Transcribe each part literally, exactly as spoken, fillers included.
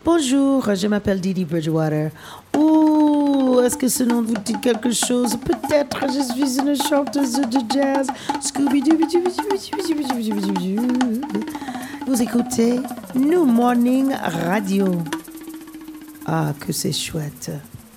Bonjour, je m'appelle Didi Bridgewater. Ouh, est-ce que ce nom vous dit quelque chose? Peut-être je suis une chanteuse de jazz. Vous écoutez New Morning Radio. Ah, que c'est chouette.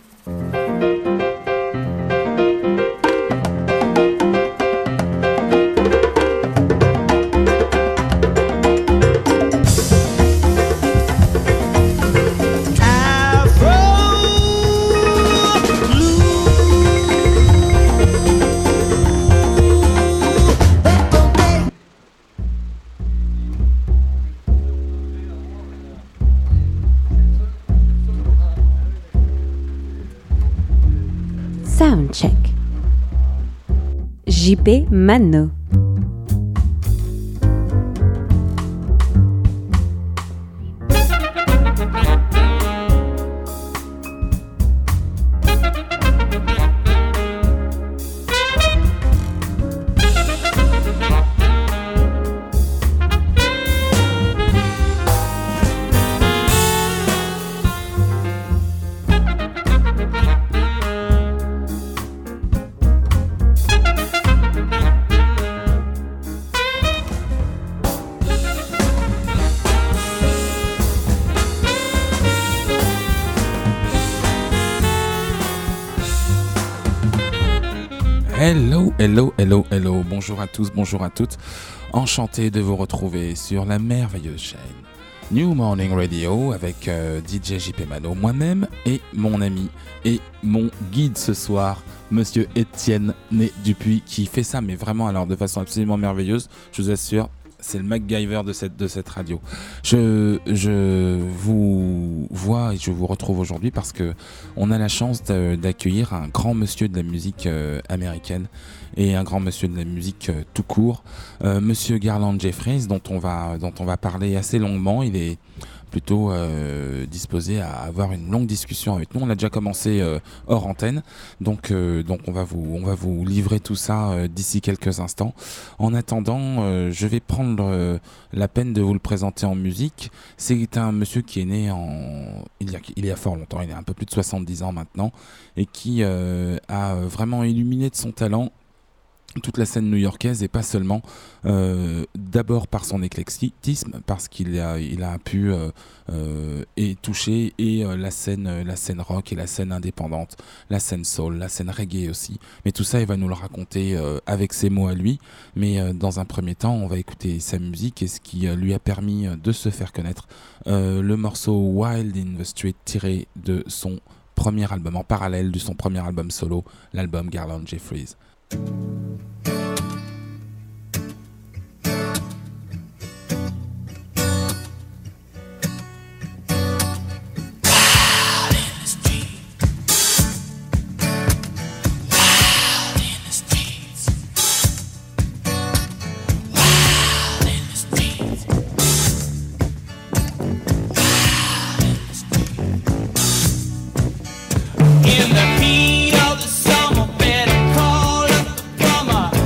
Soundcheck. J P Mano. Hello, hello, hello, hello, bonjour à tous, bonjour à toutes, enchanté de vous retrouver sur la merveilleuse chaîne New Morning Radio avec euh, D J J P Mano, moi-même et mon ami et mon guide ce soir, Monsieur Étienne Né Dupuis, qui fait ça mais vraiment alors de façon absolument merveilleuse, je vous assure. C'est le MacGyver de cette, de cette radio. Je, je vous vois et je vous retrouve aujourd'hui parce que on a la chance de, d'accueillir un grand monsieur de la musique euh, américaine et un grand monsieur de la musique euh, tout court, euh, Monsieur Garland Jeffries, dont on va, dont on va parler assez longuement. Il est plutôt euh, disposé à avoir une longue discussion avec nous. On a déjà commencé euh, hors antenne, donc euh, donc on va vous on va vous livrer tout ça euh, d'ici quelques instants. En attendant, euh, je vais prendre euh, la peine de vous le présenter en musique. C'est un monsieur qui est né en il y a il y a fort longtemps, il a un peu plus de soixante-dix ans maintenant, et qui euh, a vraiment illuminé de son talent toute la scène new-yorkaise, et pas seulement, euh, d'abord par son éclectisme, parce qu'il a, il a pu euh, euh, et toucher et euh, la scène, la scène rock et la scène indépendante, la scène soul, la scène reggae aussi. Mais tout ça, il va nous le raconter euh, avec ses mots à lui. Mais euh, dans un premier temps, on va écouter sa musique et ce qui euh, lui a permis de se faire connaître. Euh, le morceau Wild in the Street, tiré de son premier album, en parallèle de son premier album solo, l'album Garland Jeffries. In the heat of the summer, better call up the plumber.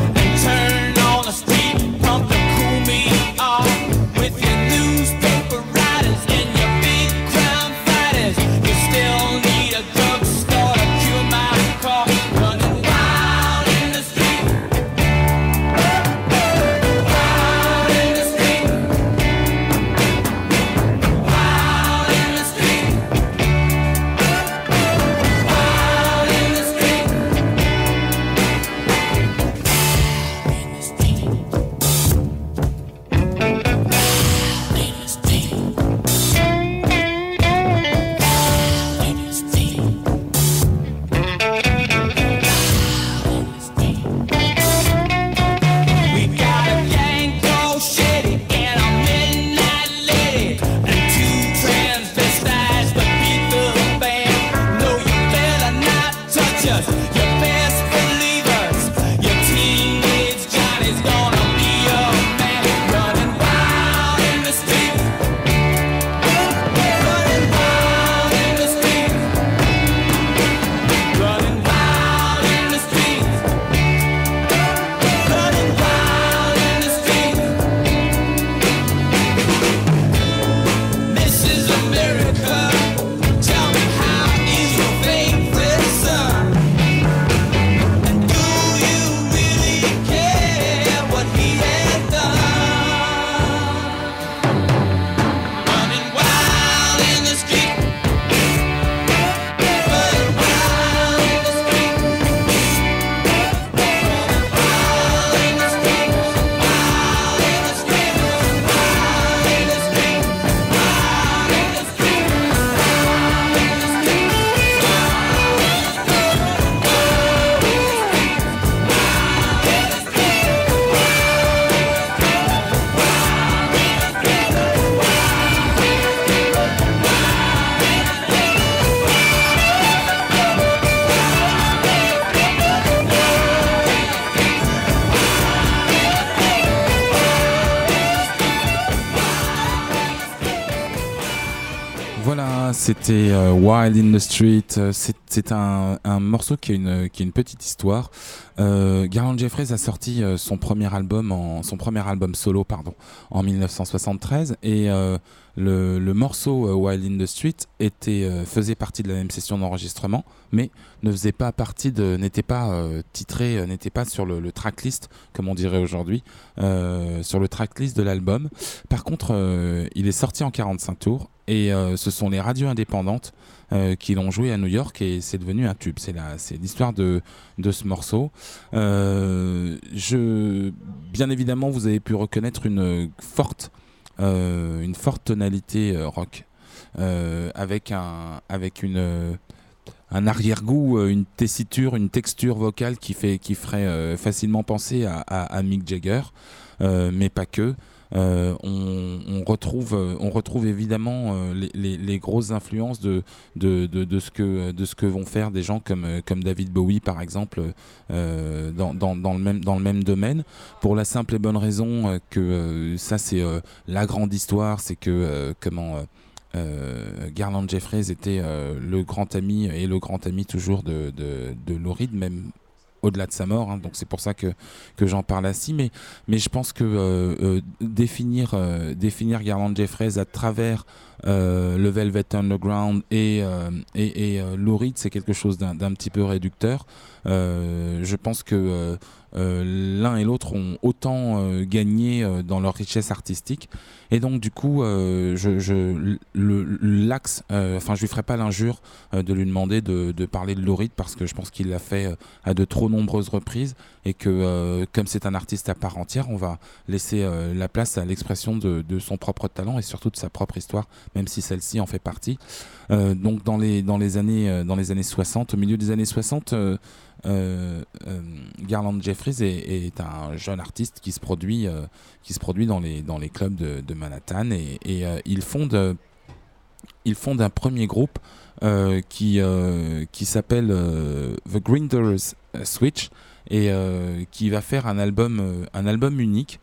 Voilà, c'était euh, Wild in the Street. C'est, c'est un, un morceau qui a une, qui a une petite histoire. Euh, Garland Jeffreys a sorti euh, son premier album, en, son premier album solo, pardon, en dix-neuf cent soixante-treize, et euh, le, le morceau euh, Wild in the Street était, euh, faisait partie de la même session d'enregistrement, mais ne faisait pas partie de, n'était pas euh, titré, euh, n'était pas sur le, le tracklist, comme on dirait aujourd'hui, euh, sur le tracklist de l'album. Par contre, euh, il est sorti en quarante-cinq tours. Et euh, ce sont les radios indépendantes euh, qui l'ont joué à New York et c'est devenu un tube. C'est, la, c'est l'histoire de, de ce morceau. Euh, je, bien évidemment, vous avez pu reconnaître une forte, euh, une forte tonalité euh, rock euh, avec, un, avec une, un arrière-goût, une tessiture, une texture vocale qui, fait, qui ferait euh, facilement penser à, à, à Mick Jagger, euh, mais pas que. Euh, on, on, retrouve, on retrouve évidemment euh, les, les, les grosses influences de, de, de, de, ce que, de ce que vont faire des gens comme, comme David Bowie par exemple euh, dans, dans, dans, le même, dans le même domaine, pour la simple et bonne raison que euh, ça c'est euh, la grande histoire, c'est que euh, comment euh, euh, Garland Jeffreys était euh, le grand ami et le grand ami toujours de, de, de Lou Reed, même au-delà de sa mort, hein, donc c'est pour ça que, que j'en parle ainsi, mais, mais je pense que euh, euh, définir, euh, définir Garland Jeffreys à travers euh, le Velvet Underground et, euh, et, et euh, Lou Reed, c'est quelque chose d'un, d'un petit peu réducteur. Euh, je pense que euh, euh, l'un et l'autre ont autant euh, gagné euh, dans leur richesse artistique, et donc du coup euh, je, je, le, l'axe, euh, enfin je lui ferai pas l'injure euh, de lui demander de, de parler de Lou Reed, parce que je pense qu'il l'a fait euh, à de trop nombreuses reprises, et que euh, comme c'est un artiste à part entière, on va laisser euh, la place à l'expression de, de son propre talent et surtout de sa propre histoire, même si celle-ci en fait partie. Euh, donc dans les, dans les années, euh, dans les années soixante, au milieu des années soixante, euh, Euh, euh, Garland Jeffreys est, est un jeune artiste qui se produit, euh, qui se produit dans les, dans les clubs de, de Manhattan, et, et euh, il fonde, il fonde un premier groupe euh, qui, euh, qui s'appelle euh, The Grinders Switch, et euh, qui va faire un album, euh, un album unique.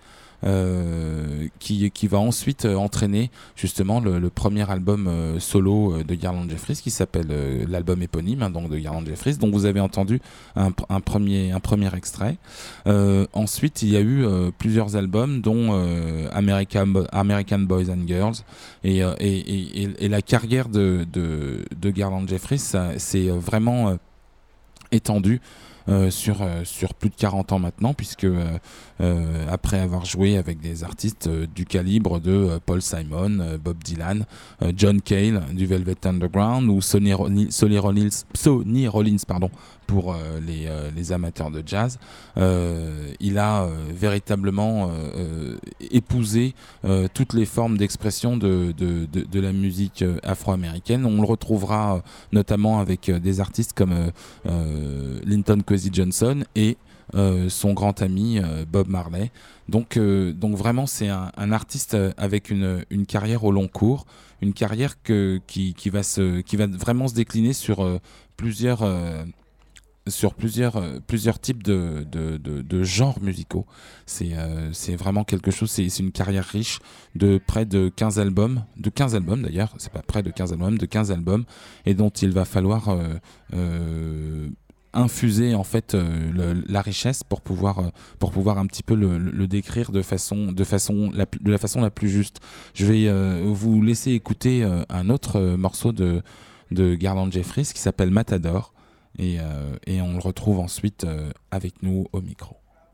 Euh, qui, qui va ensuite euh, entraîner justement le, le premier album euh, solo euh, de Garland Jeffreys, qui s'appelle euh, l'album éponyme, hein, donc de Garland Jeffreys, dont vous avez entendu un, un, premier, un premier extrait. Euh, ensuite il y a eu euh, plusieurs albums, dont euh, American, American Boys and Girls, et, euh, et, et, et la carrière de, de, de Garland Jeffreys ça, c'est vraiment euh, étendue Euh, sur, euh, sur plus de quarante ans maintenant, puisque euh, euh, après avoir joué avec des artistes euh, du calibre de euh, Paul Simon, euh, Bob Dylan, euh, John Cale du Velvet Underground, ou Sonny, Ronil, Sonny Rollins, Sonny Rollins pardon, pour euh, les, euh, les amateurs de jazz, euh, il a euh, véritablement euh, épousé euh, toutes les formes d'expression de, de, de, de la musique afro-américaine. On le retrouvera euh, notamment avec euh, des artistes comme euh, euh, Linton Kwesi Johnson et euh, son grand ami euh, Bob Marley. Donc, euh, donc vraiment c'est un, un artiste avec une, une carrière au long cours, une carrière que, qui, qui, va se, qui va vraiment se décliner sur euh, plusieurs... Euh, sur plusieurs, euh, plusieurs types de, de, de, de genres musicaux. C'est, euh, c'est vraiment quelque chose, c'est, c'est une carrière riche de près de quinze albums, de quinze albums d'ailleurs, c'est pas près de quinze albums, de quinze albums, et dont il va falloir euh, euh, infuser en fait euh, le, la richesse pour pouvoir, euh, pour pouvoir un petit peu le, le décrire de, façon, de, façon la, de la façon la plus juste. Je vais euh, vous laisser écouter euh, un autre euh, morceau de, de Garland Jeffreys qui s'appelle Matador. Et, euh, et on le retrouve ensuite euh, avec nous au micro.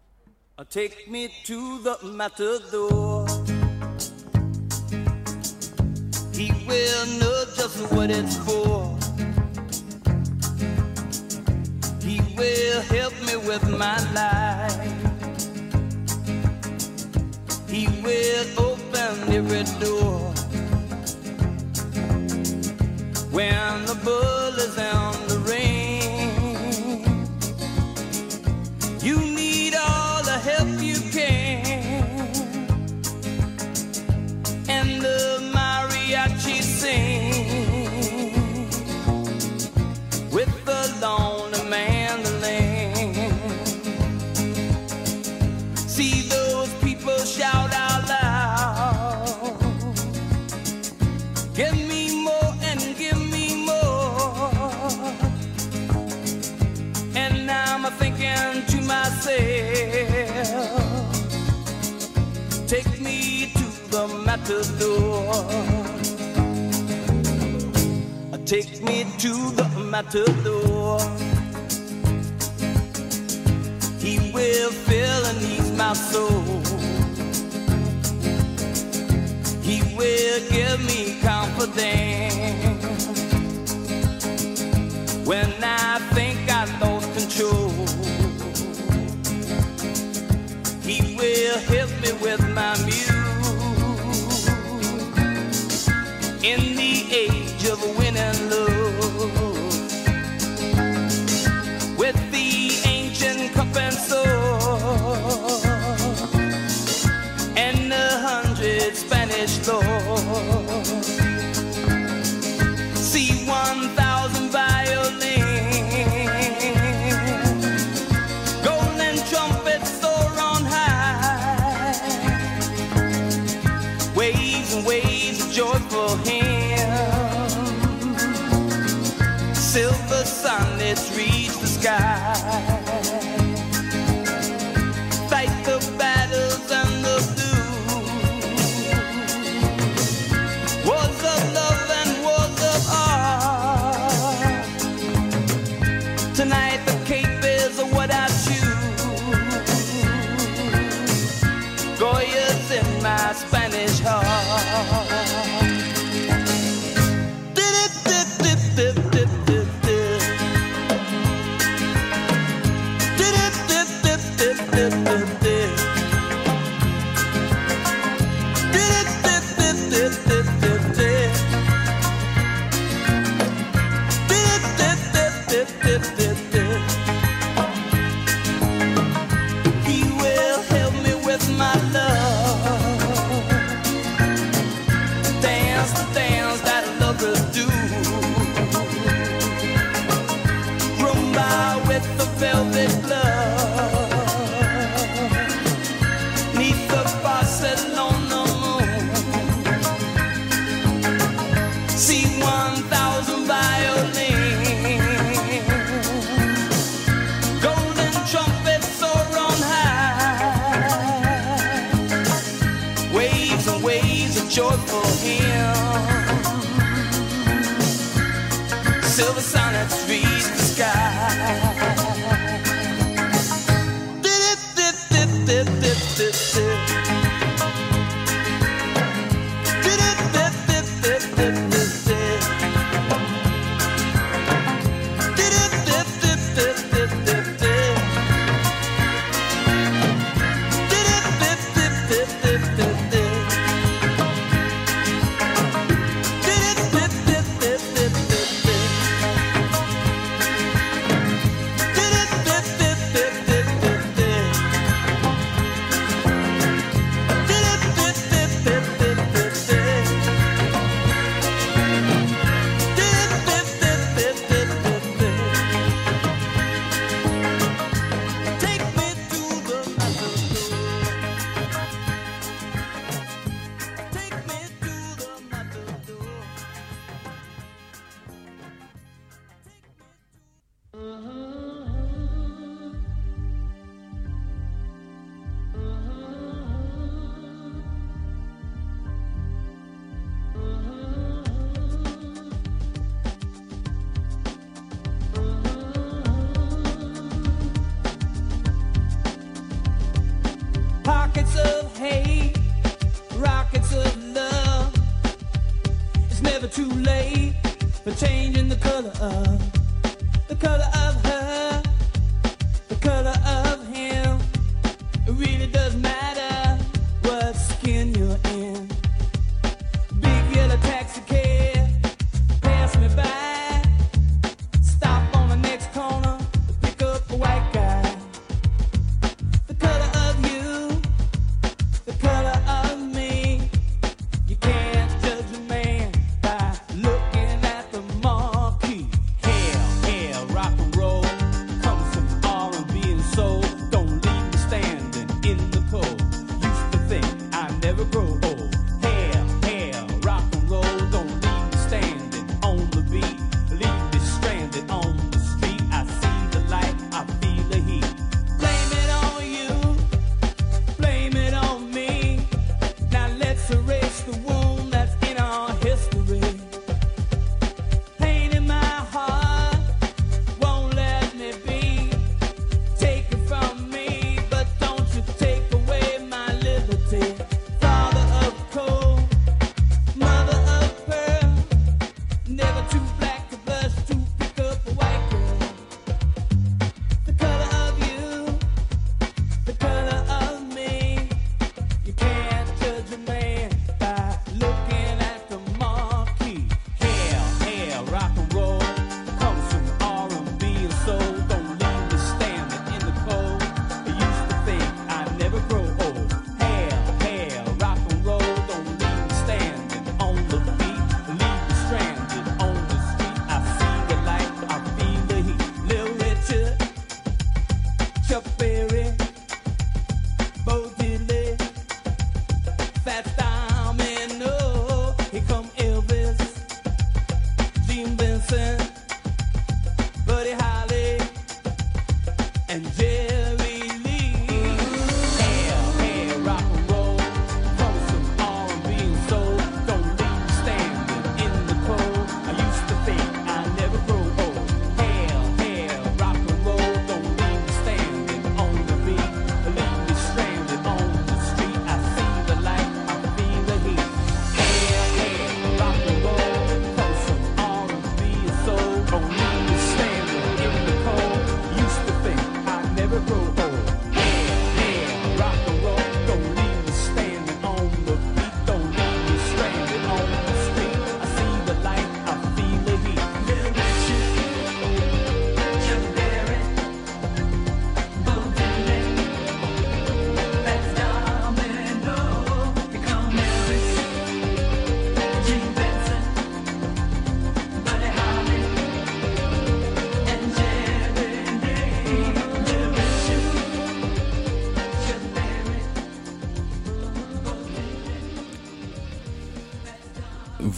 Take me to the matador. He will know just what it's for. He will help me with my life. He will open every door. When the bull is on the ring, you need all the help you can, and the mariachi sing with the lonely mandolin. See those people shout out loud, give me more thinking to myself, take me to the matador. Take me to the matador. He will fill and ease my soul. He will give me confidence when I think I lost control. He will help me with my muse in the age of winning love, with the ancient cup and sword and a hundred Spanish lords. See one thousand violins, golden trumpets soar on high, waves and waves of joyful hymns, silver sunlets reach the sky, fight the battles and the blues, wars of love and wars of art. Tonight the cape is what I choose, Goya's in my Spanish heart. Joyful hymn, silver sonnets reach the sky. Dip, dip, dip, dip, dip, dip, dip. Dip, dip, dip, dip, dip, dip, dip. Dip, dip, dip, dip, dip, dip, dip. Dip, dip, dip, dip, dip, dip, dip. Pockets of hate, rockets of love. It's never too late for changing the color of, the color of her, the color of him. It really doesn't matter what skin you're in. Big yellow taxi cab, pass me by. Stop on the next corner to pick up a white guy. The color of you, the color of me. You can't judge a man by looking at the marquee. Hell, hell, rock and roll.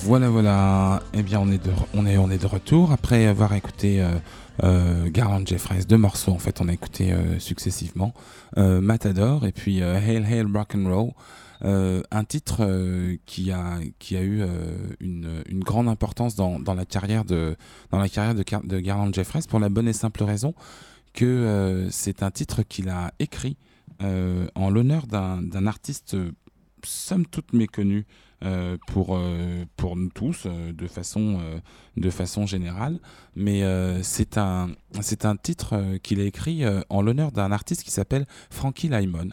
Voilà, voilà. Eh bien, on est de, on est, on est de retour après avoir écouté euh, euh, Garland Jeffreys, deux morceaux en fait, on a écouté euh, successivement, euh, Matador et puis euh, Hail Hail Rock'n'Roll, euh, un titre euh, qui a qui a eu euh, une, une grande importance dans, dans la carrière de dans la carrière de, de Garland Jeffreys pour la bonne et simple raison que euh, c'est un titre qu'il a écrit euh, en l'honneur d'un, d'un artiste euh, somme toute méconnu euh, pour, euh, pour nous tous euh, de, façon, euh, de façon générale, mais euh, c'est, un, c'est un titre euh, qu'il a écrit euh, en l'honneur d'un artiste qui s'appelle Frankie Lymon.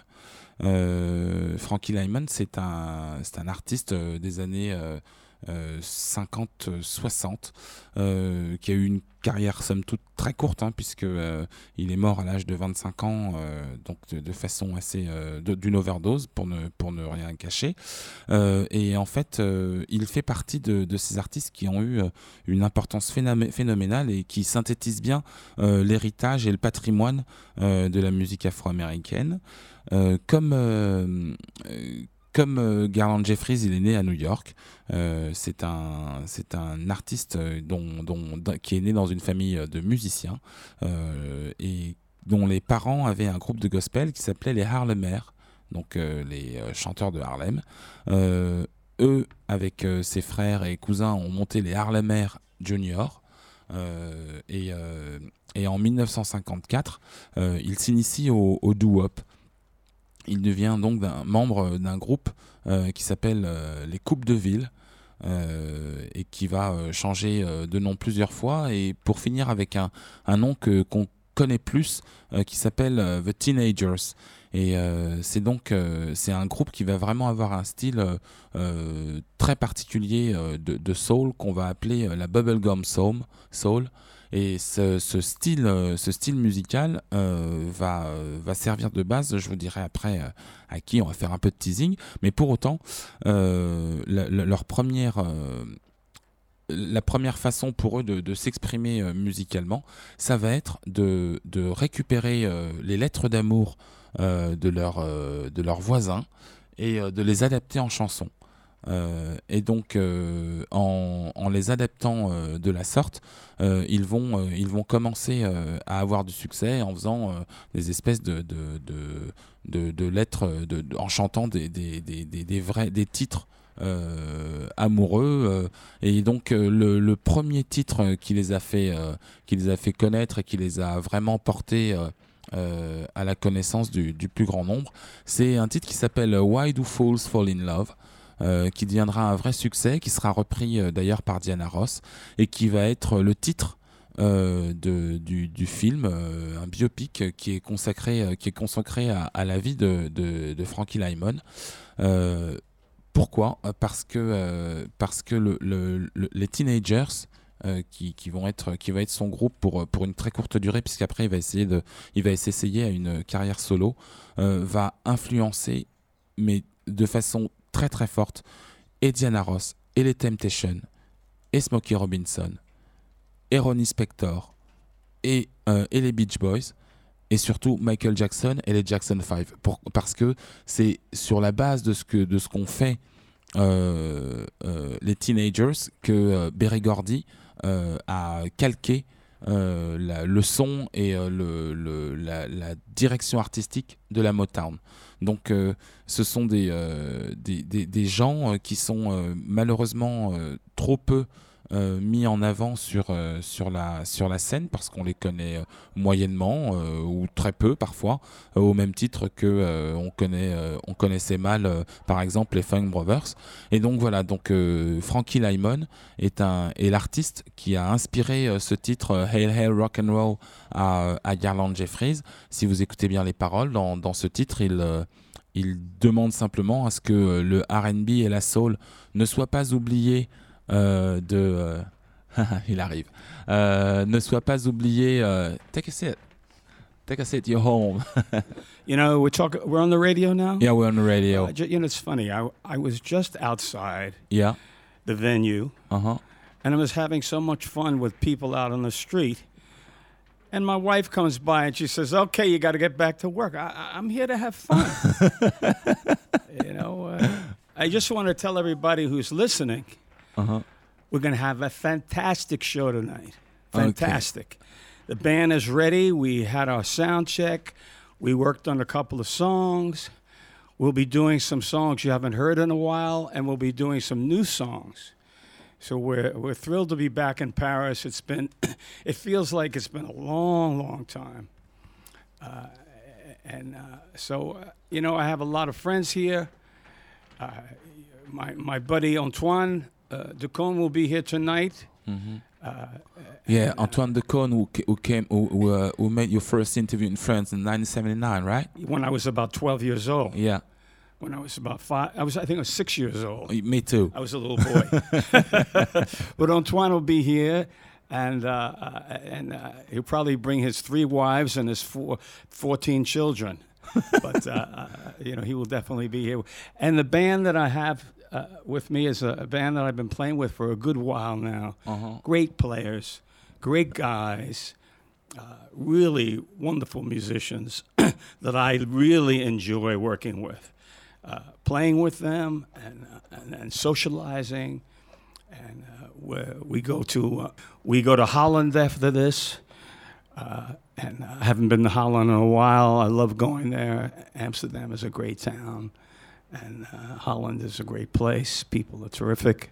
Euh, Frankie Lymon, c'est un, c'est un artiste euh, des années euh, euh, cinquante soixante euh, qui a eu une carrière somme toute très courte, hein, puisque euh, il est mort à l'âge de vingt-cinq ans, euh, donc de, de façon assez euh, de, d'une overdose pour ne pour ne rien cacher. Euh, et en fait, euh, il fait partie de, de ces artistes qui ont eu euh, une importance phénomé- phénoménale et qui synthétisent bien euh, l'héritage et le patrimoine euh, de la musique afro-américaine. Euh, comme euh, euh, Comme euh, Garland Jeffreys, il est né à New York. Euh, c'est un c'est un artiste dont, dont, qui est né dans une famille de musiciens euh, et dont les parents avaient un groupe de gospel qui s'appelait les Harlemaires, donc euh, les euh, chanteurs de Harlem. Euh, eux, avec euh, ses frères et cousins, ont monté les Harlemaires Junior. Euh, et, euh, et en dix-neuf cent cinquante-quatre, euh, il s'initie au, au doo-wop. Il devient donc d'un membre d'un groupe euh, qui s'appelle euh, les Coupes de Ville euh, et qui va euh, changer euh, de nom plusieurs fois et pour finir avec un, un nom que, qu'on connaît plus euh, qui s'appelle euh, The Teenagers. Et euh, c'est donc euh, c'est un groupe qui va vraiment avoir un style euh, très particulier euh, de, de soul qu'on va appeler euh, la bubblegum soul. soul. Et ce, ce, style, ce style musical euh, va, va servir de base, je vous dirai après euh, à qui, on va faire un peu de teasing, mais pour autant, euh, la, la, leur première, euh, la première façon pour eux de, de s'exprimer euh, musicalement, ça va être de, de récupérer euh, les lettres d'amour euh, de, leur, euh, de leurs voisins et euh, de les adapter en chansons. Euh, et donc euh, en, en les adaptant euh, de la sorte, euh, ils, vont, euh, ils vont commencer euh, à avoir du succès en faisant euh, des espèces de, de, de, de, de lettres, de, de, en chantant des, des, des, des, des, vrais, des titres euh, amoureux. Euh, et donc euh, le, le premier titre qui les a fait, euh, qui les a fait connaître et qui les a vraiment portés euh, euh, à la connaissance du, du plus grand nombre, c'est un titre qui s'appelle Why Do Fools Fall in Love? Euh, qui deviendra un vrai succès, qui sera repris euh, d'ailleurs par Diana Ross et qui va être le titre euh, de, du, du film, euh, un biopic qui est consacré, euh, qui est consacré à, à la vie de, de, de Frankie Lymon. Euh, pourquoi ? Parce que, euh, parce que le, le, le, les Teenagers, euh, qui, qui, vont être, qui va être son groupe pour, pour une très courte durée, puisqu'après il va essayer de, il va s'essayer à une carrière solo, euh, va influencer, mais de façon très très forte, et Diana Ross, et les Temptations, et Smokey Robinson, et Ronnie Spector, et, euh, et les Beach Boys, et surtout Michael Jackson et les Jackson five. Pour, parce que c'est sur la base de ce, que, de ce qu'ont fait euh, euh, les Teenagers que euh, Berry Gordy euh, a calqué euh, la, le son et euh, le, le, la, la direction artistique de la Motown. Donc euh, ce sont des, euh, des, des, des gens euh, qui sont euh, malheureusement euh, trop peu euh, mis en avant sur, euh, sur, la, sur la scène parce qu'on les connaît euh, moyennement euh, ou très peu parfois, euh, au même titre que euh, on, connaît, euh, on connaissait mal euh, par exemple les Funk Brothers. Et donc voilà, donc, euh, Frankie Lymon est, un, est l'artiste qui a inspiré euh, ce titre euh, Hail Hail Rock'n'Roll à, à Garland Jeffreys. Si vous écoutez bien les paroles, dans, dans ce titre, il... Euh, Il demande simplement à ce que le R and B et la soul ne soient pas oubliés euh, de... Euh, il arrive. Euh, ne soient pas oubliés... Euh, take a seat. Take a seat. You're home. You know, we're talking. We're on the radio now. Yeah, we're on the radio. Uh, ju- you know, it's funny. I I was just outside Yeah. the venue, Uh-huh. and I was having so much fun with people out on the street. And my wife comes by and she says, "Okay, you got to get back to work. I, I, I'm here to have fun." You know, uh, I just want to tell everybody who's listening Uh-huh. We're going to have a fantastic show tonight. Fantastic. Okay. The band is ready. We had our sound check. We worked on a couple of songs. We'll be doing some songs you haven't heard in a while, and we'll be doing some new songs. So we're we're thrilled to be back in Paris. It's been, it feels like it's been a long, long time. Uh, and uh, so, uh, you know, I have a lot of friends here. Uh, my my buddy Antoine uh, Decaune will be here tonight. Mm-hmm. Uh, yeah, Antoine Decaune, who, who came, who who, uh, who made your first interview in France in nineteen seventy-nine, right? When I was about twelve years old. Yeah. When I was about five, I was I think I was six years old. Me too. I was a little boy. But Antoine will be here, and uh, uh, and uh, he'll probably bring his three wives and his four, fourteen children. But uh, uh, you know, he will definitely be here. And the band that I have uh, with me is a, a band that I've been playing with for a good while now. Uh-huh. Great players, great guys, uh, really wonderful musicians that I really enjoy working with. Uh, playing with them and, uh, and and socializing, and uh, we go to uh, we go to Holland after this, uh, and I haven't been to Holland in a while. I love going there. Amsterdam is a great town, and uh, Holland is a great place. People are terrific.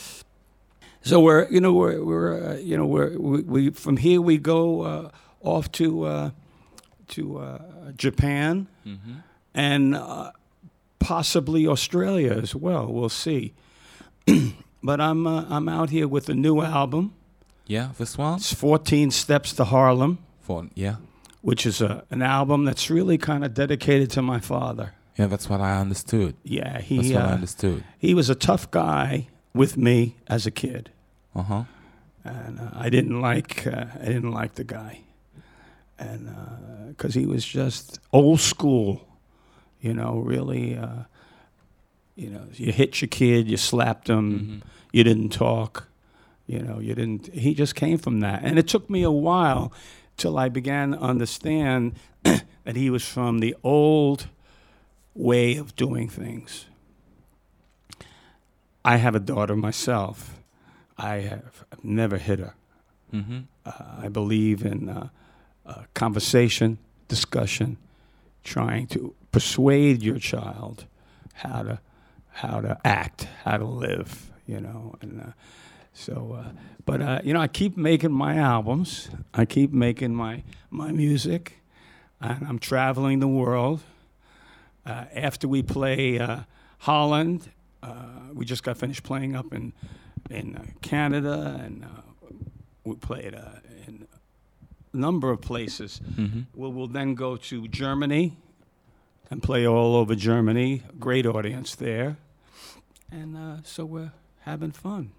So we're you know we're we're uh, you know we're we, we from here we go uh, off to uh, to uh, Japan, Mm-hmm. and. Uh, Possibly Australia as well. We'll see. But I'm uh, I'm out here with a new album. Yeah, this one? It's fourteen Steps to Harlem. For, yeah. Which is a, an album that's really kind of dedicated to my father. Yeah, that's what I understood. Yeah, he That's what I uh, understood. he was a tough guy with me as a kid, Uh-huh. and uh, I didn't like uh, I didn't like the guy, and because he was just old school. You know, really, uh, you know, you hit your kid, you slapped him, Mm-hmm. you didn't talk, you know, you didn't, he just came from that. And it took me a while till I began to understand that he was from the old way of doing things. I have a daughter myself. I have I've never hit her. Mm-hmm. Uh, I believe in uh, uh, conversation, discussion, trying to persuade your child how to how to act, how to live, you know. And uh, so, uh, but uh, you know, I keep making my albums. I keep making my my music, and I'm traveling the world. Uh, after we play uh, Holland, uh, we just got finished playing up in in uh, Canada, and uh, we played uh, in a number of places. Mm-hmm. We'll, we'll then go to Germany and play all over Germany. Great audience there. And uh, so we're having fun.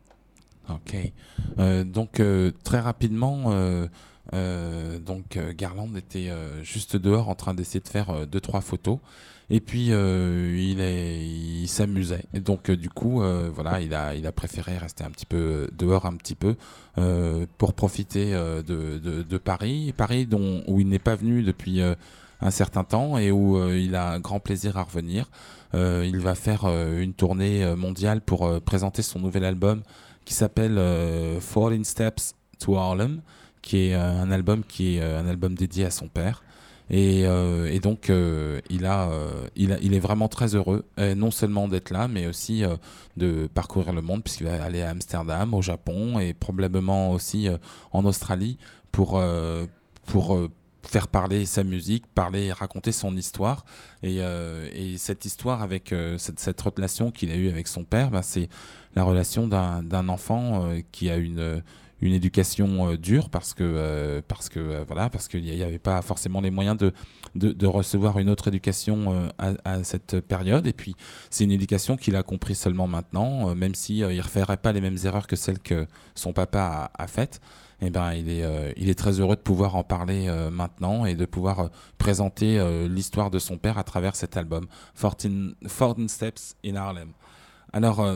Ok. Euh, donc euh, très rapidement, euh, euh, donc euh, Garland était euh, juste dehors en train d'essayer de faire euh, deux trois photos. Et puis euh, il est, il s'amusait. Et donc euh, du coup, euh, voilà, il a, il a préféré rester un petit peu dehors un petit peu euh, pour profiter euh, de, de, de Paris, Paris dont où il n'est pas venu depuis euh, un certain temps et où euh, il a un grand plaisir à revenir. Euh, il va faire euh, une tournée euh, mondiale pour euh, présenter son nouvel album qui s'appelle euh, fourteen Steps to Harlem, qui est euh, un album qui est euh, un album dédié à son père. Et, euh, et donc euh, il a, euh, il a, il est vraiment très heureux, euh, non seulement d'être là, mais aussi euh, de parcourir le monde, puisqu'il va aller à Amsterdam, au Japon et probablement aussi euh, en Australie pour euh, pour euh, faire parler sa musique, parler, raconter son histoire. Et, euh, et cette histoire avec euh, cette, cette relation qu'il a eue avec son père, ben, c'est la relation d'un, d'un enfant euh, qui a une, une éducation euh, dure parce que, euh, parce que, euh, voilà, parce qu'il n'y avait pas forcément les moyens de, de, de recevoir une autre éducation euh, à, à cette période. Et puis, c'est une éducation qu'il a compris seulement maintenant, euh, même s'il euh, ne referait pas les mêmes erreurs que celles que son papa a, a faites. Eh ben, il est, euh, il est très heureux de pouvoir en parler euh, maintenant et de pouvoir euh, présenter euh, l'histoire de son père à travers cet album, fourteen, fourteen Steps in Harlem. Alors, euh,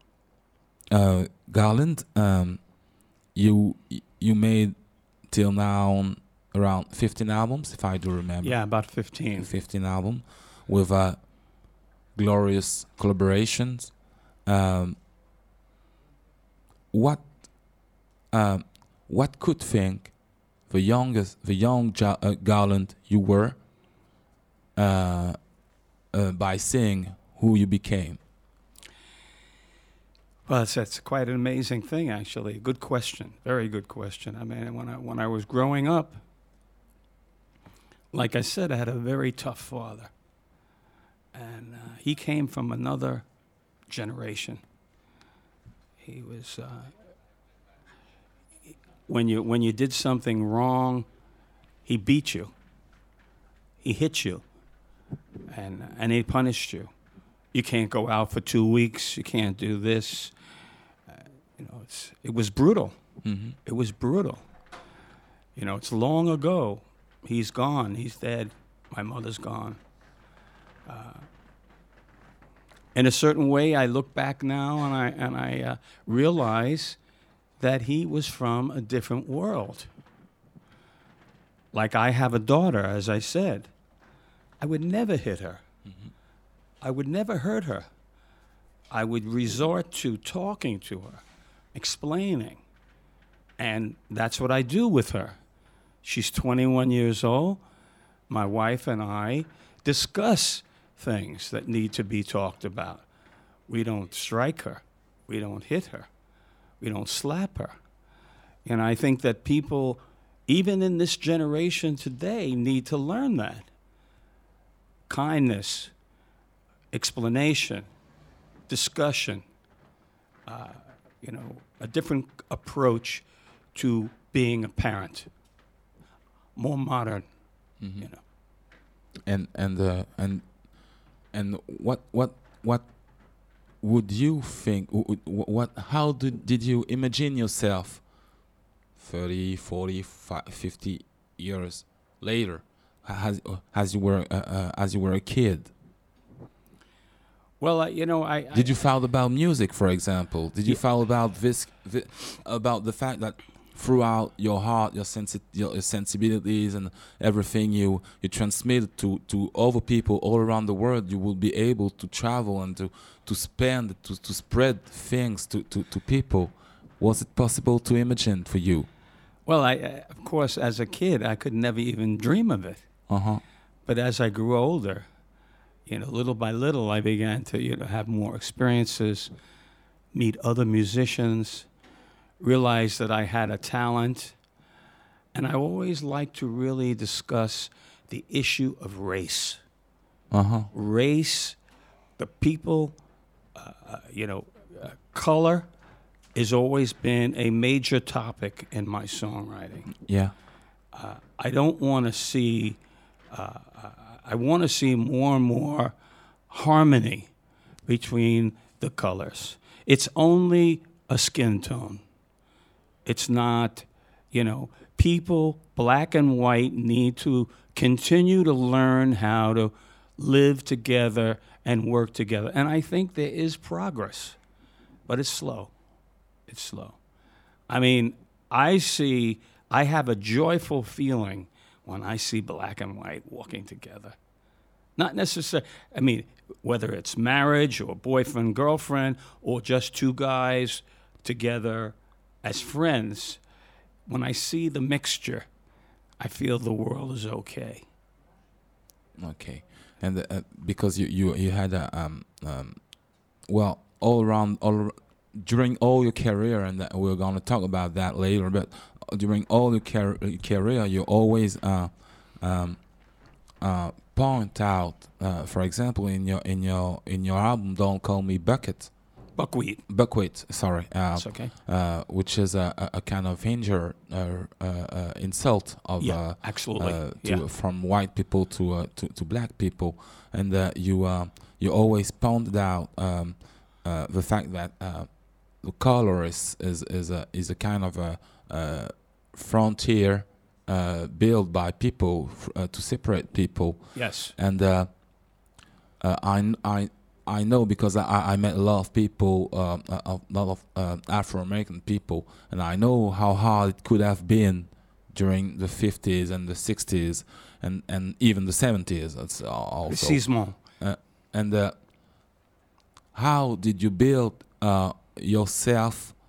euh, Garland, um, you you made till now around fifteen albums, if I do remember. Yeah, about fifteen. fifteen albums with uh, glorious collaborations. Um, what uh, what could think the youngest, the young ja- uh, Garland you were uh, uh, by seeing who you became? Well, that's, that's quite an amazing thing, actually. Good question. Very good question. I mean, when I when I was growing up, like I said, I had a very tough father, and uh, he came from another generation. He was uh, when you when you did something wrong, he beat you. He hit you, and and he punished you. You can't go out for two weeks. You can't do this. Uh, you know, it's it was brutal. Mm-hmm. It was brutal. You know, it's long ago. He's gone. He's dead. My mother's gone. Uh, in a certain way, I look back now and I and I uh, realize that he was from a different world. Like I have a daughter, as I said. I would never hit her. Mm-hmm. I would never hurt her. I would resort to talking to her, explaining. And that's what I do with her. She's twenty-one years old. My wife and I discuss things that need to be talked about. We don't strike her. We don't hit her. We don't slap her. And I think that people, even in this generation today, need to learn that. Kindness, explanation, discussion, uh, you know, a different approach to being a parent, more modern, Mm-hmm. you know. And and uh, and and what what what would you think? w- w- What how did did you imagine yourself thirty, forty, fi- fifty years later, as as you were uh, uh, as you were a kid? Well, uh, you know, I, I Did you feel about music, for example? Did you Yeah. feel about this, thi- about the fact that throughout your heart, your, sensi- your your sensibilities and everything you you transmit to to other people all around the world, you will be able to travel and to to spend to to spread things to to to people? Was it possible to imagine for you? well, I, I of course, as a kid, I could never even dream of it. Uh huh. But as I grew older, you know, little by little, I began to, you know, have more experiences, meet other musicians, realize that I had a talent. And I always like to really discuss the issue of race. Uh huh. Race, the people, uh, uh, you know, uh, color has always been a major topic in my songwriting. Yeah. Uh, I don't want to see, uh, uh, I want to see more and more harmony between the colors. It's only a skin tone. It's not, you know, people, black and white, need to continue to learn how to live together and work together. And I think there is progress, but it's slow. It's slow. I mean, I see, I have a joyful feeling when I see black and white walking together. Not necessarily, I mean, whether it's marriage or boyfriend, girlfriend, or just two guys together as friends, when I see the mixture, I feel the world is okay. Okay, and uh, because you you you had a um um, well all around all ar- during all your career, and that we're gonna talk about that later. But during all your car- career, you always uh um uh point out, uh, for example, in your in your in your album, "Don't Call Me Bucket," Buckwheat. Buckwheat, sorry, uh, It's okay. uh, which is a, a, a kind of injure uh, uh, uh, insult of Yeah, uh, absolutely. uh, to, Yeah. from white people to uh, to, to black people, and uh, you uh, you always pointed out um, uh, the fact that uh, the color is is is a is a kind of a, uh frontier uh, built by people f- uh, to separate people, Yes. and uh, uh, I kn- I. I know because I, I met a lot of people, uh, a a lot of uh, Afro-American people, and I know how hard it could have been during the fifties and the sixties and, and even the seventies. That's al- also. Precisement. And uh, how did you build uh, yourself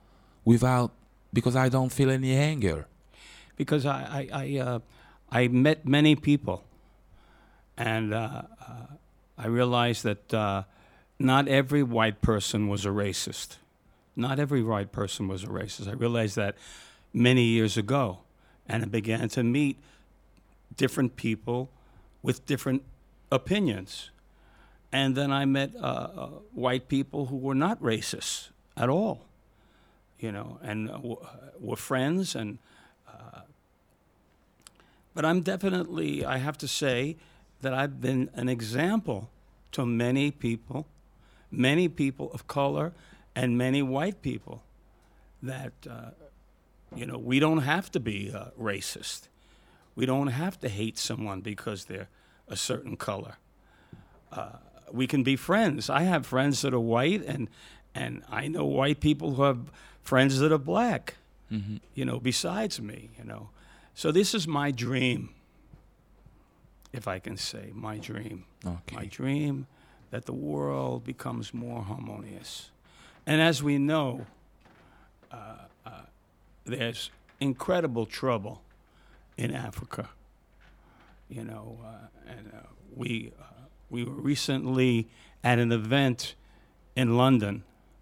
without, because I don't feel any anger. Because I I I, uh, I met many people, and uh, uh, I realized that uh, not every white person was a racist. Not every white person was a racist. I realized that many years ago, and I began to meet different people with different opinions. And then I met uh, uh, white people who were not racist at all, you know, and uh, w- were friends. And uh, but I'm definitely, I have to say that I've been an example to many people, many people of color, and many white people, that uh, you know, we don't have to be uh, racist. We don't have to hate someone because they're a certain color. Uh, we can be friends. I have friends that are white, and and I know white people who have friends that are black, Mm-hmm. you know, besides me, you know. So this is my dream, if I can say, my dream. Okay. My dream that the world becomes more harmonious. And as we know, uh, uh, there's incredible trouble in Africa, you know, uh, and uh, we uh, we were recently at an event in London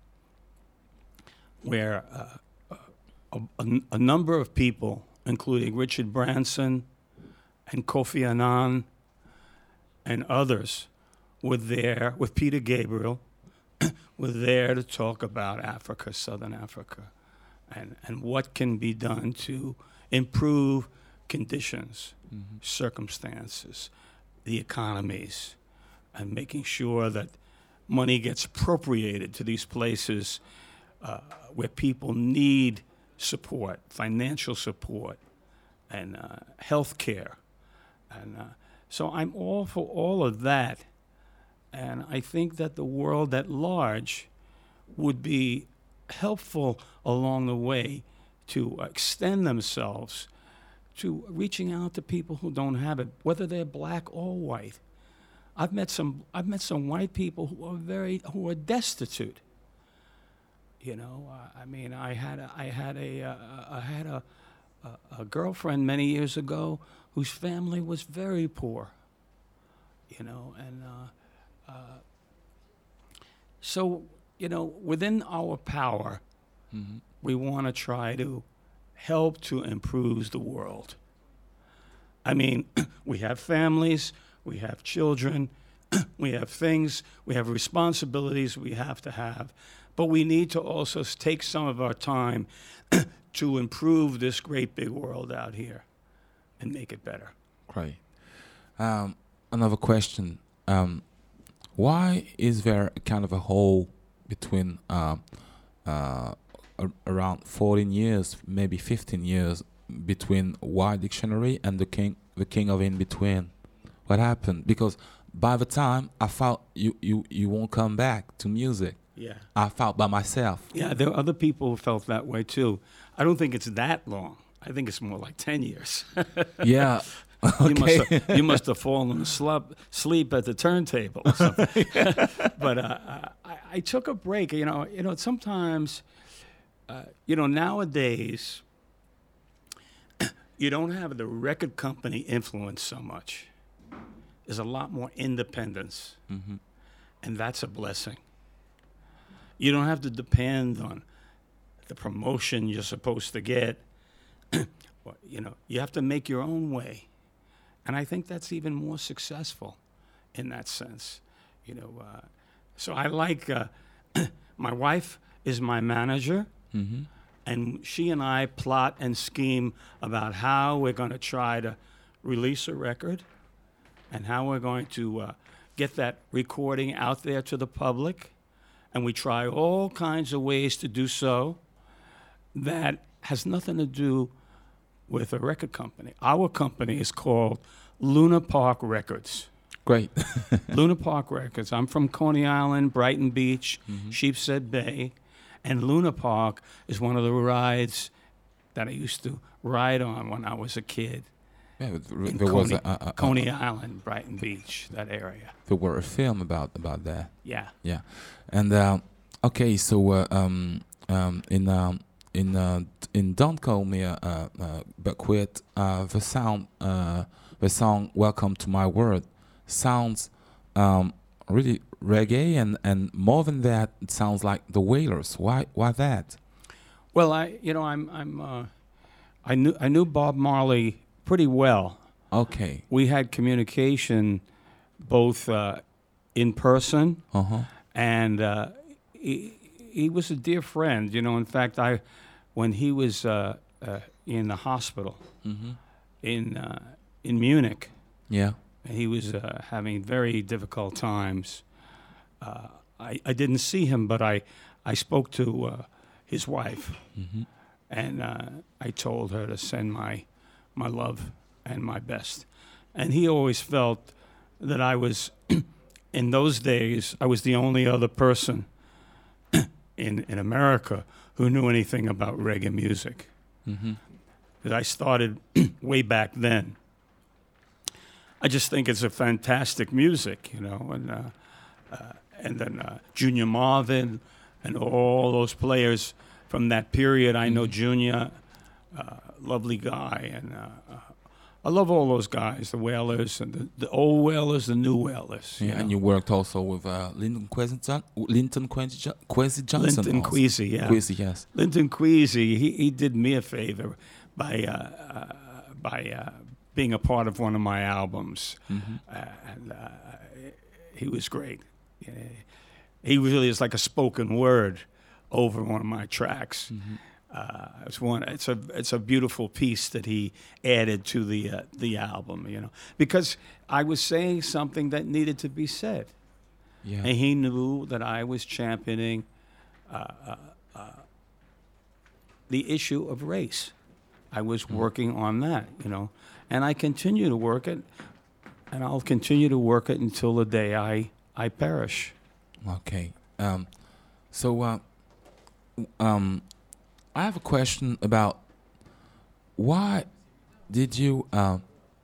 where uh, a, a, a number of people, including Richard Branson and Kofi Annan and others, were there with Peter Gabriel, were there to talk about Africa, Southern Africa, and, and what can be done to improve conditions, Mm-hmm. circumstances, the economies, and making sure that money gets appropriated to these places uh, where people need support, financial support, and uh, health care. And uh, so I'm all for all of that. And I think that the world at large would be helpful along the way to extend themselves to reaching out to people who don't have it, whether they're black or white. I've met some I've met some white people who are very who are destitute. You know, uh, I mean, I had a, I had a uh, I had a, a a girlfriend many years ago whose family was very poor. You know, and uh, uh, so you know, within our power, Mm-hmm. we want to try to help to improve the world. I mean, we have families, we have children, we have things, we have responsibilities we have to have, but we need to also s- take some of our time to improve this great big world out here and make it better. Great. Um, another question. Um, why is there a kind of a hole between uh, uh, a- around fourteen years, maybe fifteen years, between White Dictionary and the King, the King of In Between? What happened? Because by the time I felt you, you, you won't come back to music, Yeah. I felt by myself. Yeah, there are other people who felt that way too. I don't think it's that long. I think it's more like ten years. Yeah. You must Okay. have, you must have fallen asleep sleep at the turntable or something. But uh, I, I took a break. You know, you know. Sometimes, uh, you know, nowadays, you don't have the record company influence so much. There's a lot more independence, Mhm. and that's a blessing. You don't have to depend on the promotion you're supposed to get. Well, you know, you have to make your own way. And I think that's even more successful in that sense. You know, uh, so I like, uh, my wife is my manager, Mhm. and she and I plot and scheme about how we're going to try to release a record and how we're going to uh, get that recording out there to the public. And we try all kinds of ways to do so that has nothing to do with a record company. Our company is called Luna Park Records. Great. Luna Park Records. I'm from Coney Island, Brighton Beach, Mhm. Sheepshead Bay, and Luna Park is one of the rides that I used to ride on when I was a kid. Yeah, but th- In there was Coney, a, a, a, Coney Island, Brighton Beach, that area. there were a film about about that. Yeah. Yeah, and uh, okay, so uh, um, um, in um, in uh, in Don't Call Me uh, uh, uh, But Quit, uh, the sound, uh, the song "Welcome to My World" sounds um, really reggae, and, and more than that, it sounds like the Wailers. Why why that? Well, I you know I'm I'm uh, I knew I knew Bob Marley pretty well. Okay. We had communication both uh, in person, Uh huh. and uh, he, he was a dear friend. You know, in fact, I when he was uh, uh, in the hospital Mm-hmm. in uh, in Munich, Yeah. he was uh, having very difficult times. Uh, I I didn't see him, but I I spoke to uh, his wife, Mm-hmm. and uh, I told her to send my my love and my best. And he always felt that I was, in those days, I was the only other person in in America who knew anything about reggae music. Mm-hmm. Because I started way back then. I just think it's a fantastic music, you know, and uh, uh, and then uh, Junior Marvin and all those players from that period. I know Junior, uh, lovely guy, and uh, uh, I love all those guys, the Wailers and the, the old Wailers, the new Wailers. Yeah, you and know. you worked also with uh, Linton Kwesi John- Linton Kwesi Jo- Kwesi Johnson. Linton also. Kwesi, yeah. Kwesi, yes. Linton Kwesi, he, he did me a favor by uh, uh, by uh, being a part of one of my albums, Mm-hmm. uh, and uh, he was great. Yeah. He really is like a spoken word over one of my tracks. Mm-hmm. Uh, it's one. It's a it's a beautiful piece that he added to the uh, the album. You know, because I was saying something that needed to be said, Yeah. and he knew that I was championing uh, uh, uh, the issue of race. I was working on that, you know, and I continue to work it, and I'll continue to work it until the day I I perish. Okay. Um, so, uh, um, I have a question about why did you uh,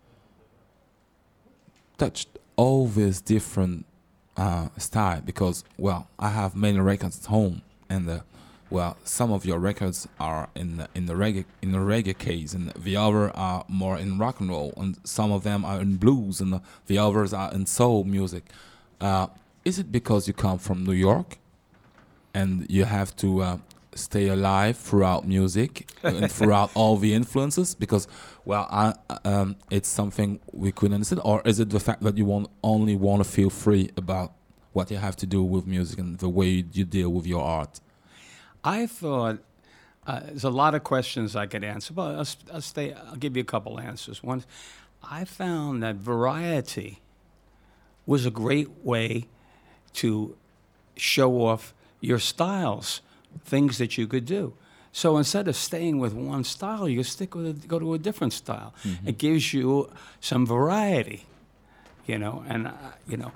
touch all these different uh, style? Because, well, I have many records at home, and uh, well, some of your records are in the, in the reggae in the reggae case, and the other are more in rock and roll, and some of them are in blues, and the, the others are in soul music. Uh, is it because you come from New York, and you have to uh, stay alive throughout music and throughout all the influences? Because, well, I, um, it's something we couldn't understand. Or is it the fact that you want only want to feel free about what you have to do with music and the way you deal with your art? I thought uh, there's a lot of questions I could answer, but I'll, I'll stay. I'll give you a couple answers. One, I found that variety was a great way to show off your styles, things that you could do. So instead of staying with one style, you stick with a, go to a different style. Mm-hmm. It gives you some variety, you know, and uh, you know,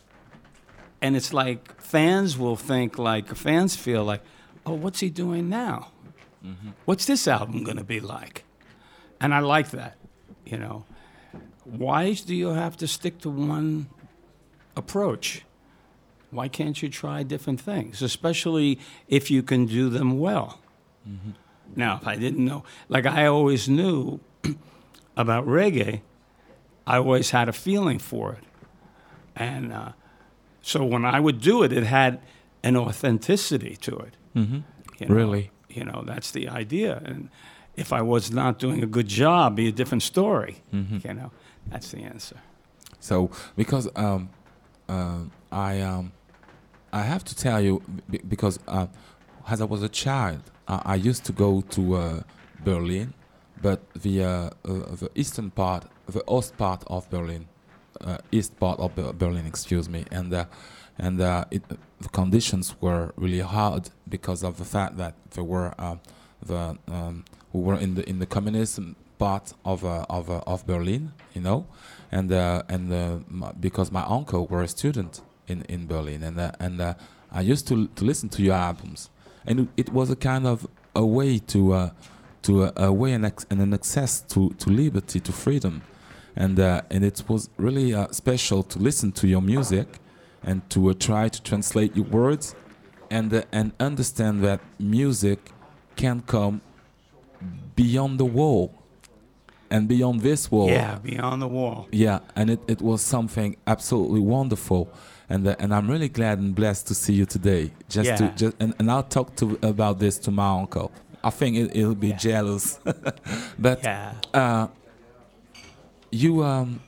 and it's like fans will think like fans feel like, oh, what's he doing now? Mm-hmm. What's this album going to be like? And I like that, you know. Why do you have to stick to one approach? Why can't you try different things, especially if you can do them well? Mm-hmm. Now, if I didn't know, like I always knew about reggae, I always had a feeling for it. And uh, so when I would do it, it had an authenticity to it. Mm-hmm. You know? Really? You know, that's the idea. And if I was not doing a good job, be a different story. Mm-hmm. You know, that's the answer. So, because um, uh, I um, I have to tell you, b- because uh, as I was a child, uh, I used to go to uh, Berlin, but the uh, uh, the eastern part, the Ost part of Berlin, uh, east part of Ber- Berlin, excuse me, and uh, and uh, it, the conditions were really hard because of the fact that there were uh, the um, we were in the in the communism part of uh, of uh, of Berlin, you know, and uh, and uh, my, because my uncle were a student in in Berlin, and uh, and uh, I used to to listen to your albums, and it was a kind of a way to uh, to uh, a way and, ex- and an access to, to liberty, to freedom, and uh, and it was really uh, special to listen to your music, and to uh, try to translate your words, and uh, and understand that music can come beyond the wall and beyond this wall. Yeah, beyond the wall. Yeah, and it, it was something absolutely wonderful, and uh, and I'm really glad and blessed to see you today. Just Yeah. to just and, and I'll talk to about this to my uncle. I think it, he'll be Yeah. jealous, but Yeah. uh, you um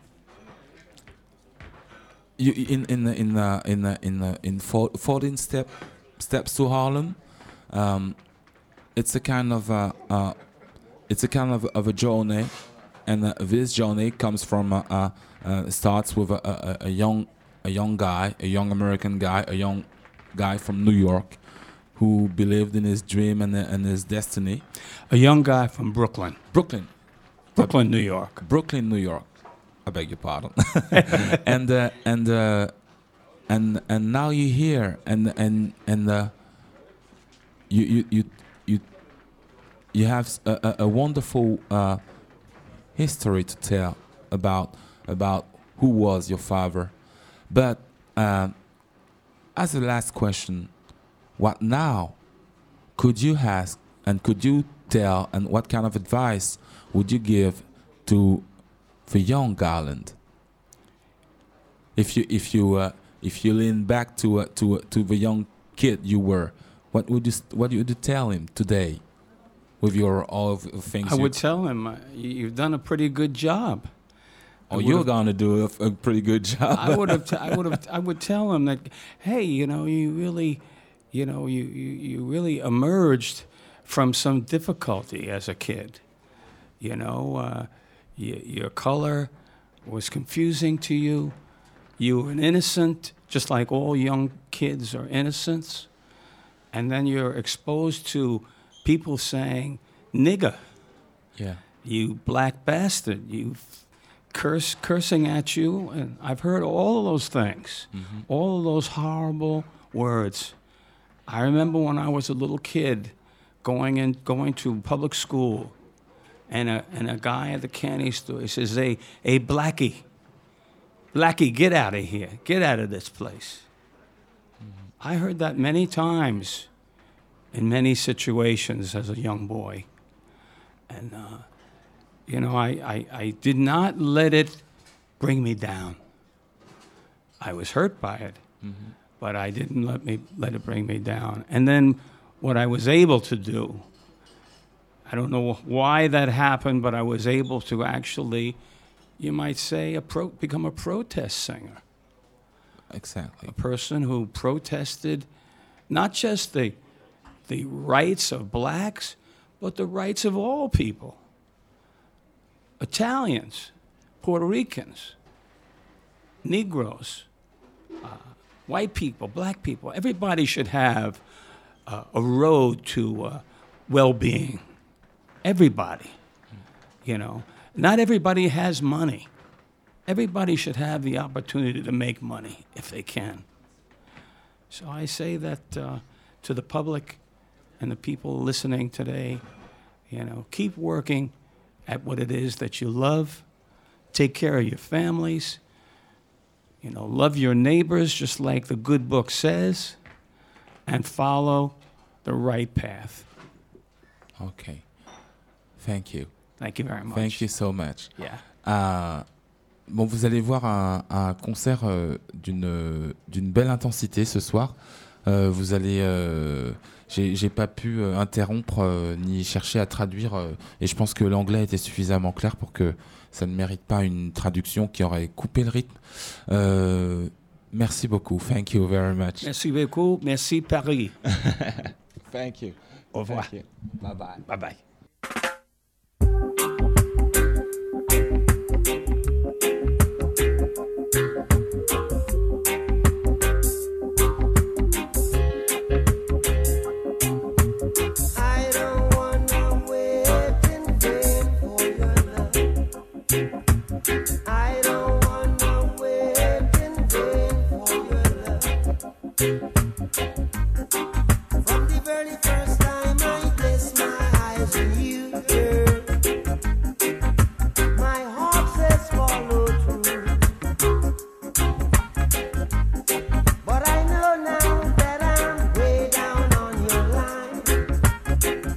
you in in the- in the- in the- in the- in four- fourteen step steps to Harlem. Um, it's a kind of a, uh, it's a kind of, of a journey, and uh, this journey comes from uh, uh, uh, starts with a, a, a young a young guy, a young American guy, a young guy from New York, who believed in his dream and, and his destiny. A young guy from Brooklyn, Brooklyn, Brooklyn, New York. Brooklyn, New York. I beg your pardon. and uh, and uh, and and now you're here, and and and uh, you you you you you have s- a, a- a wonderful uh, history to tell about about who was your father. But uh, as a last question, what now could you ask and could you tell, and what kind of advice would you give to the young Garland? If you if you uh, if you lean back to uh, to uh, to the young kid you were, what would you s- what would you tell him today, with your all of the things? I you, would tell him, uh, you- you've done a pretty good job. I oh, would you're have- gonna do a, f- a pretty good job. I would have. T- I would have. I would tell him that, hey, you know, you really, you know, you, you, you really emerged from some difficulty as a kid. You know, uh, y- your color was confusing to you. You were an innocent, just like all young kids are innocents. And then you're exposed to people saying, "Nigger, Yeah. you black bastard, you curse cursing at you," and I've heard all of those things, all of those horrible words. I remember when I was a little kid going in going to public school, and a and a guy at the candy store, he says, "Hey, hey, Blackie, Blackie, get out of here, get out of this place." I heard that many times in many situations as a young boy. And, uh, you know, I, I, I did not let it bring me down. I was hurt by it, but I didn't let me let it bring me down. And then what I was able to do, I don't know why that happened, but I was able to actually, you might say, a pro, become a protest singer. Exactly. A person who protested not just the, the rights of blacks, but the rights of all people. Italians, Puerto Ricans, Negroes, uh, white people, black people. Everybody should have uh, a road to uh, well-being. Everybody, you know. Not everybody has money. Everybody should have the opportunity to make money if they can. So I say that uh, to the public and the people listening today, you know, keep working at what it is that you love. Take care of your families. You know, love your neighbors just like the good book says, and follow the right path. Okay. Thank you. Thank you very much. Thank you so much. Yeah. Euh, bon, vous allez voir un, un concert euh, d'une d'une belle intensité ce soir. Euh, vous allez, euh, j'ai j'ai pas pu euh, interrompre euh, ni chercher à traduire, euh, et je pense que l'anglais était suffisamment clair pour que ça ne mérite pas une traduction qui aurait coupé le rythme. Euh, merci beaucoup. Thank you very much. Merci beaucoup. Merci Paris. Thank you. Au revoir. Thank you. Bye bye. Bye bye. I don't wanna wait in vain for your love. I don't wanna wait in vain for your love. From the very first time I place my eyes on you, girl, my heart says follow through. But I know now that I'm way down on your line.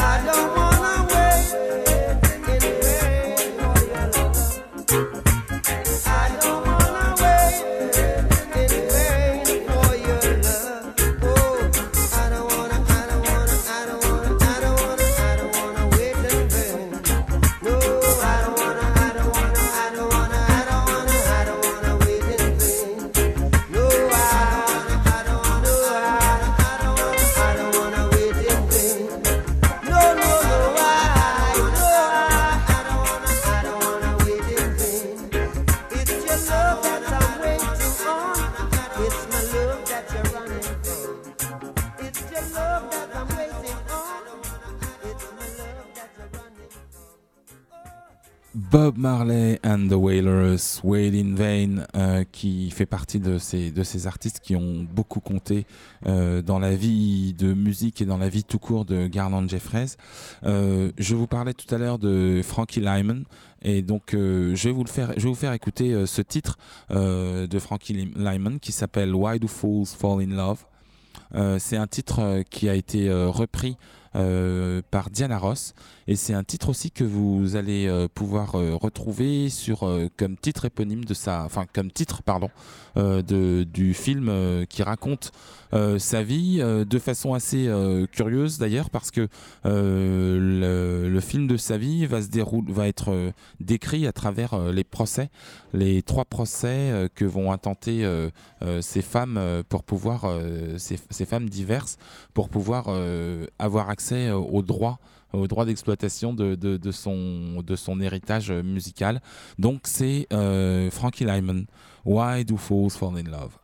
Bob Marley and the Wailers, Wait in Vain, euh, qui fait partie de ces, de ces artistes qui ont beaucoup compté euh, dans la vie de musique et dans la vie tout court de Garland Jeffreys. Euh, je vous parlais tout à l'heure de Frankie Lymon, et donc euh, je vais vous le faire, je vais vous faire écouter euh, ce titre euh, de Frankie Lymon qui s'appelle Why Do Fools Fall in Love. Euh, c'est un titre euh, qui a été euh, repris Euh, par Diana Ross, et c'est un titre aussi que vous allez euh, pouvoir euh, retrouver sur euh, comme titre éponyme de sa, enfin comme titre pardon euh, de du film euh, qui raconte euh, sa vie euh, de façon assez euh, curieuse d'ailleurs, parce que euh, le, le film de sa vie va se dérouler, va être euh, décrit à travers euh, les procès, les trois procès euh, que vont intenter euh, euh, ces femmes euh, pour pouvoir euh, ces, ces femmes diverses pour pouvoir euh, avoir accès aux droits, aux droits d'exploitation de, de, de, son, de son héritage musical. Donc c'est euh, Frankie Lymon, Why Do Fools Fall in Love.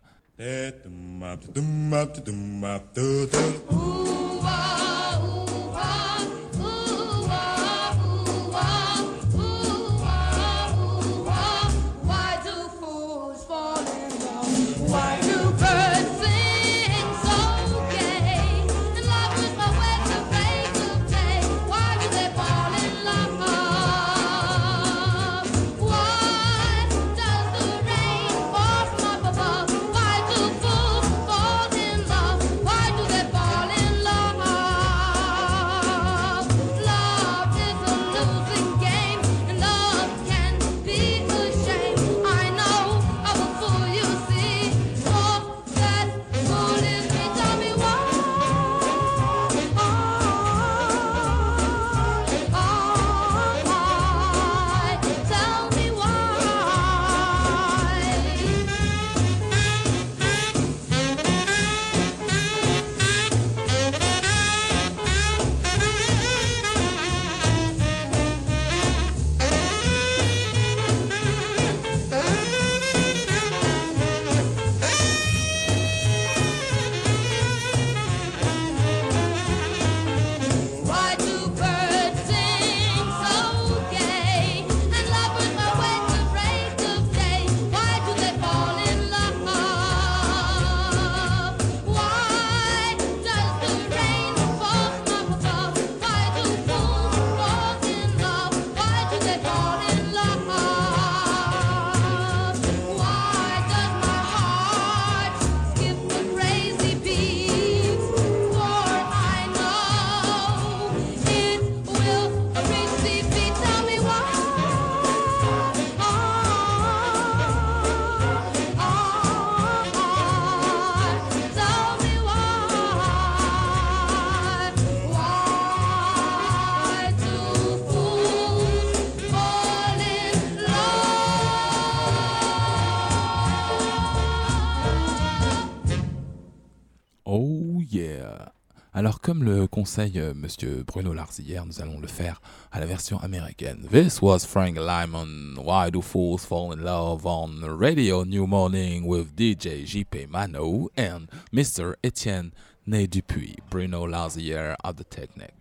Alors, comme le conseille euh, Monsieur Bruno Larzière, nous allons le faire à la version américaine. This was Frank Lymon, Why Do Fools Fall in Love on Radio New Morning with D J J P Mano and Mister Etienne Né Dupuis, Bruno Larzière at the Technique.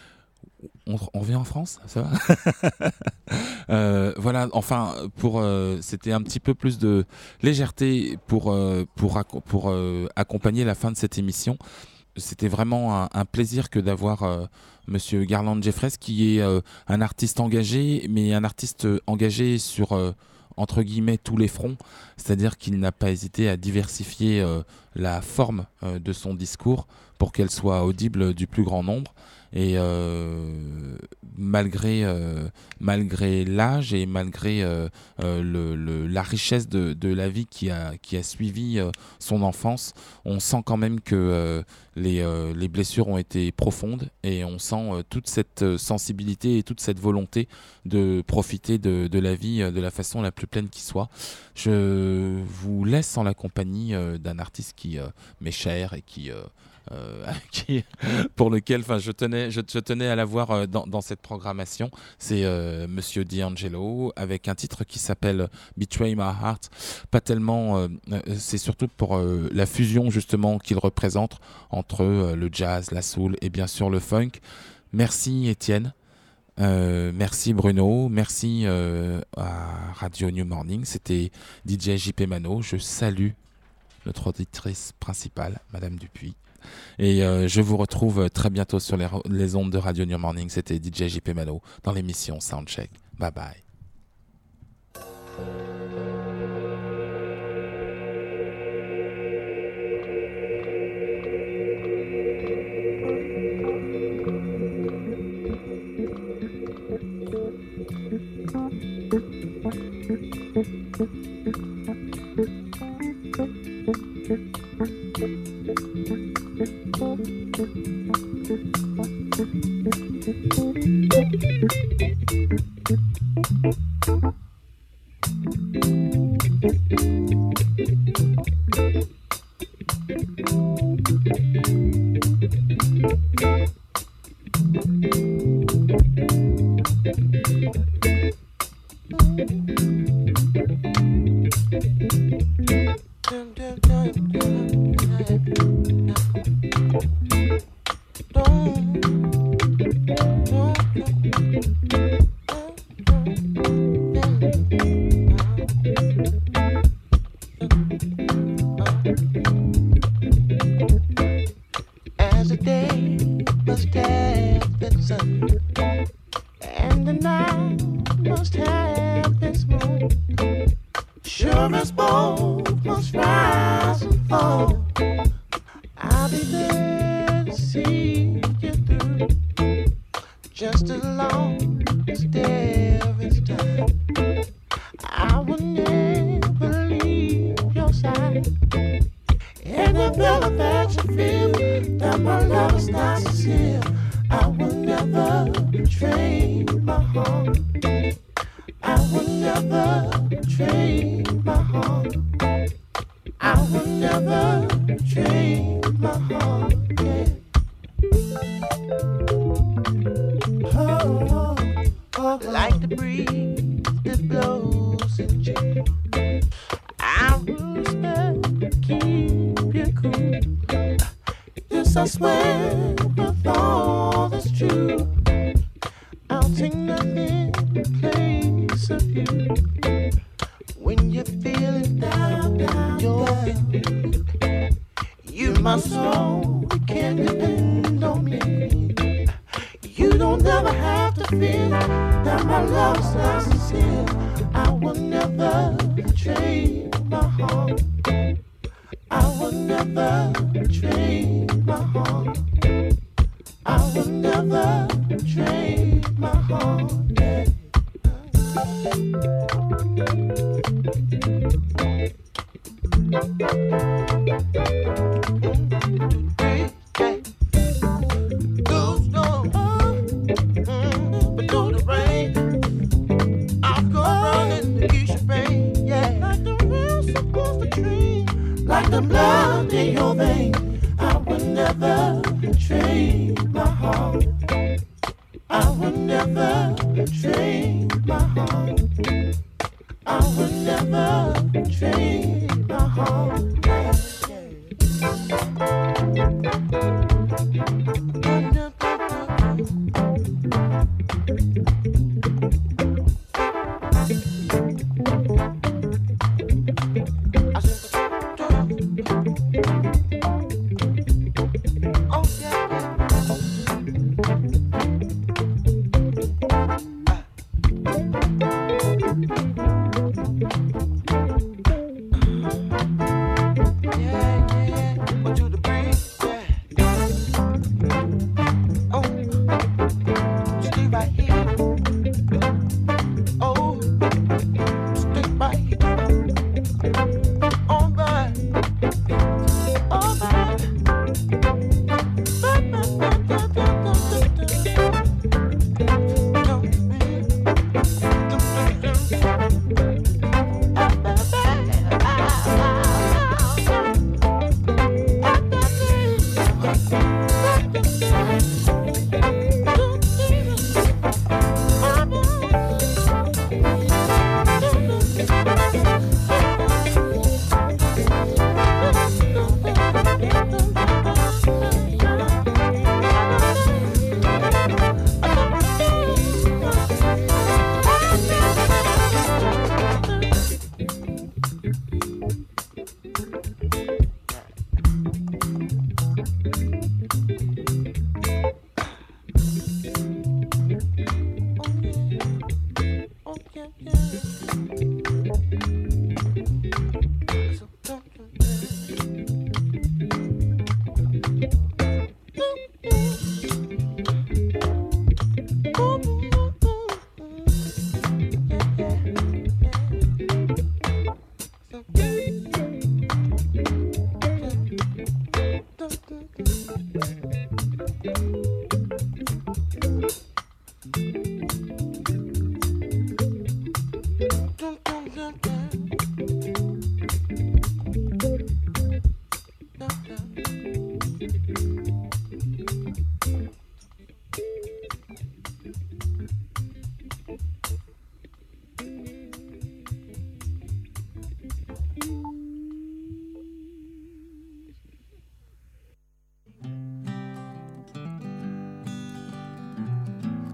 On, on revient en France, ça va? euh, Voilà, enfin, pour, euh, c'était un petit peu plus de légèreté pour, euh, pour, pour, pour euh, accompagner la fin de cette émission. C'était vraiment un, un plaisir que d'avoir euh, Monsieur Garland Jeffreys, qui est euh, un artiste engagé, mais un artiste engagé sur, euh, entre guillemets, tous les fronts. C'est-à-dire qu'il n'a pas hésité à diversifier euh, la forme euh, de son discours pour qu'elle soit audible du plus grand nombre. Et euh, malgré, euh, malgré l'âge et malgré euh, euh, le, le, la richesse de, de la vie qui a, qui a suivi euh, son enfance, on sent quand même que euh, les, euh, les blessures ont été profondes et on sent euh, toute cette sensibilité et toute cette volonté de profiter de, de la vie euh, de la façon la plus pleine qui soit. Je vous laisse en la compagnie euh, d'un artiste qui euh, m'est cher et qui... Euh, Euh, qui, pour lequel enfin, je, tenais, je, je tenais à l'avoir euh, dans, dans cette programmation. C'est euh, Monsieur D'Angelo avec un titre qui s'appelle Betray My Heart. Pas tellement, euh, c'est surtout pour euh, la fusion justement qu'il représente entre euh, le jazz, la soul et bien sûr le funk. Merci Étienne. Euh, merci Bruno, merci euh, à Radio New Morning. C'était D J J P Mano. Je salue notre auditrice principale, Madame Dupuis. Et euh, je vous retrouve très bientôt sur les, les ondes de Radio New Morning. C'était D J J P Mano dans l'émission Soundcheck. Bye bye.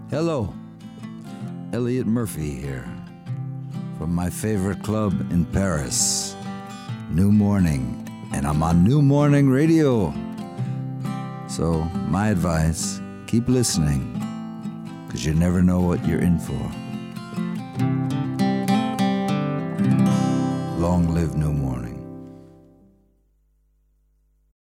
Hello, Elliot Murphy here from my favorite club in Paris, New Morning, and I'm on New Morning Radio. So my advice, keep listening, because you never know what you're in for.